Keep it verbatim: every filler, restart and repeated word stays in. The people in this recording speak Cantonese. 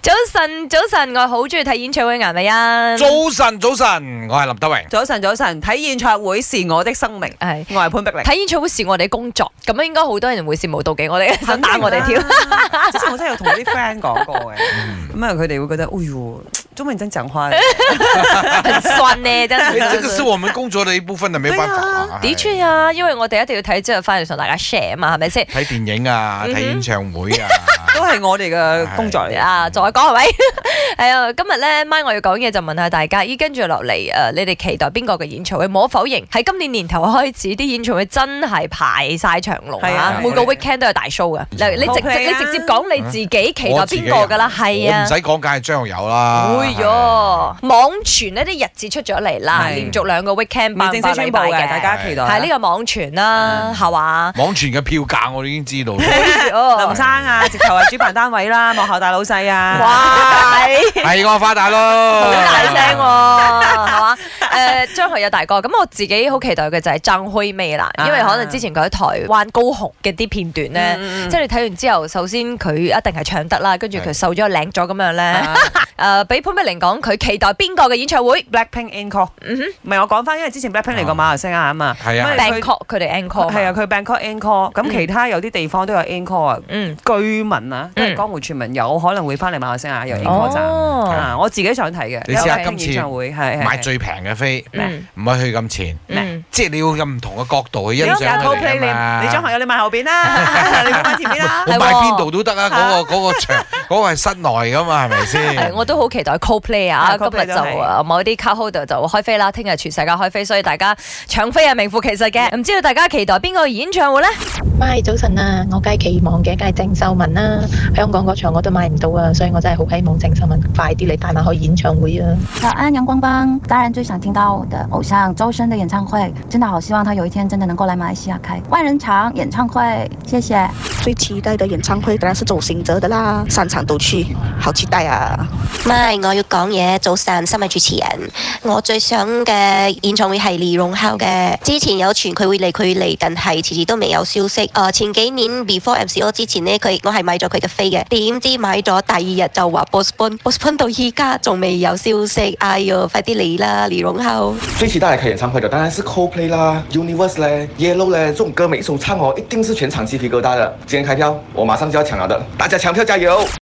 早晨，早晨，我好中意睇演唱會顏美欣。 早晨，早晨，我係林德榮。 早晨，早晨，睇演唱會是我的生命。 係， 我係潘碧玲。 睇演唱會是我哋嘅工作，咁樣應該好多人會羨慕妒忌我哋，想打我哋跳。 之前我真係有同啲 friend 講過嘅，咁啊佢哋會覺得，哎喲，中文真講話， 很酸呢，真係。 這個是我們工作的一部分，就冇辦法啊。 的確啊，因為我哋一定要睇之後翻嚟同大家 share 啊嘛，係咪先？ 睇電影啊，睇演唱會啊， 都係我哋嘅工作嚟啊！再講係咪？係啊，今日咧，咪我要講嘢就問下大家，依跟住落嚟誒，你哋期待邊個嘅演唱會？無可否認，喺今年年頭開始，啲演唱會真係排晒長龍啊！每個 weekend 都有大 show 嘅。你你直直你直接講你自己期待邊個㗎啦？係啊， 唔使講，梗係張學友啦。 會咗網傳呢啲日子出咗嚟啦，連續兩個 weekend 未正式宣佈嘅，大家期待。 係呢個網傳啦，係嘛？ 網傳嘅票價我哋已經知道。 林生啊，直頭係主辦單位啦，幕後大老細啊。 哇！ 係我發達咯， 好大聲喎，係嘛？誒，張學友大哥，咁我自己好期待嘅就係張惠妹啦，因為可能之前佢喺台灣高雄嘅啲片段咧，即係你睇完之後，首先佢一定係唱得啦，跟住佢瘦咗靚咗咁樣咧。誒，俾潘碧玲講，佢期待邊個嘅演唱會 ？Blackpink Encore。嗯哼，唔係我講翻，因為之前 Blackpink 嚟過馬來西亞啊嘛。 係啊。 Bangkok 佢哋 Encore。 係啊，佢 Bangkok Encore。咁其他有啲地方都有 Encore 啊。嗯。據聞啊，都係江湖傳聞，有可能會翻嚟馬來西亞有 Encore 站。啊，我自己想睇嘅。 你試下今次演唱會係買最平嘅飛，唔係去咁前，即係你要咁唔同嘅角度去欣賞佢哋啊嘛。 你張學友你買後邊啦，你買前邊啦。 我買邊度都得啊！嗰個嗰個場嗰個係室內噶嘛，係咪先？ 我都好期待 Coldplay 啊！今日就某啲 card holder 就開飛啦，聽日全世界開飛，所以大家搶飛係名副其實嘅。唔知道大家期待邊個演唱會咧？ 咪早晨啊！我梗係期望嘅，梗係鄭秀文啦。香港嗰場我都買唔到啊，所以我真係好希望鄭秀文快啲嚟帶埋去演唱會啊！ 早安，陽光幫，當然最想聽到我的偶像周深的演唱會，真的好希望他有一天真的能夠來馬來西亞開萬人場演唱會，謝謝。 最期待的演唱會當然是周興哲的啦，三場都去，好期待啊！ 咪我要講嘢，早晨，新聞主持人，我最想嘅演唱會係李榮浩嘅，之前有傳佢會嚟，佢嚟，但係遲遲都未有消息。誒、呃，前幾年 before M C O 之前呢，佢我係買咗佢嘅飛嘅，點知買咗第二日就話 postpone，postpone 到依家仲未有消息。哎喲，快啲嚟啦，李榮浩！ 最期待嚟開演唱會的當然是 Coldplay 啦 ，Universe 咧 ，Yellow 咧，這種歌每一首唱哦，一定是全場雞皮疙瘩的。今天開票，我馬上就要搶了的，大家搶票加油！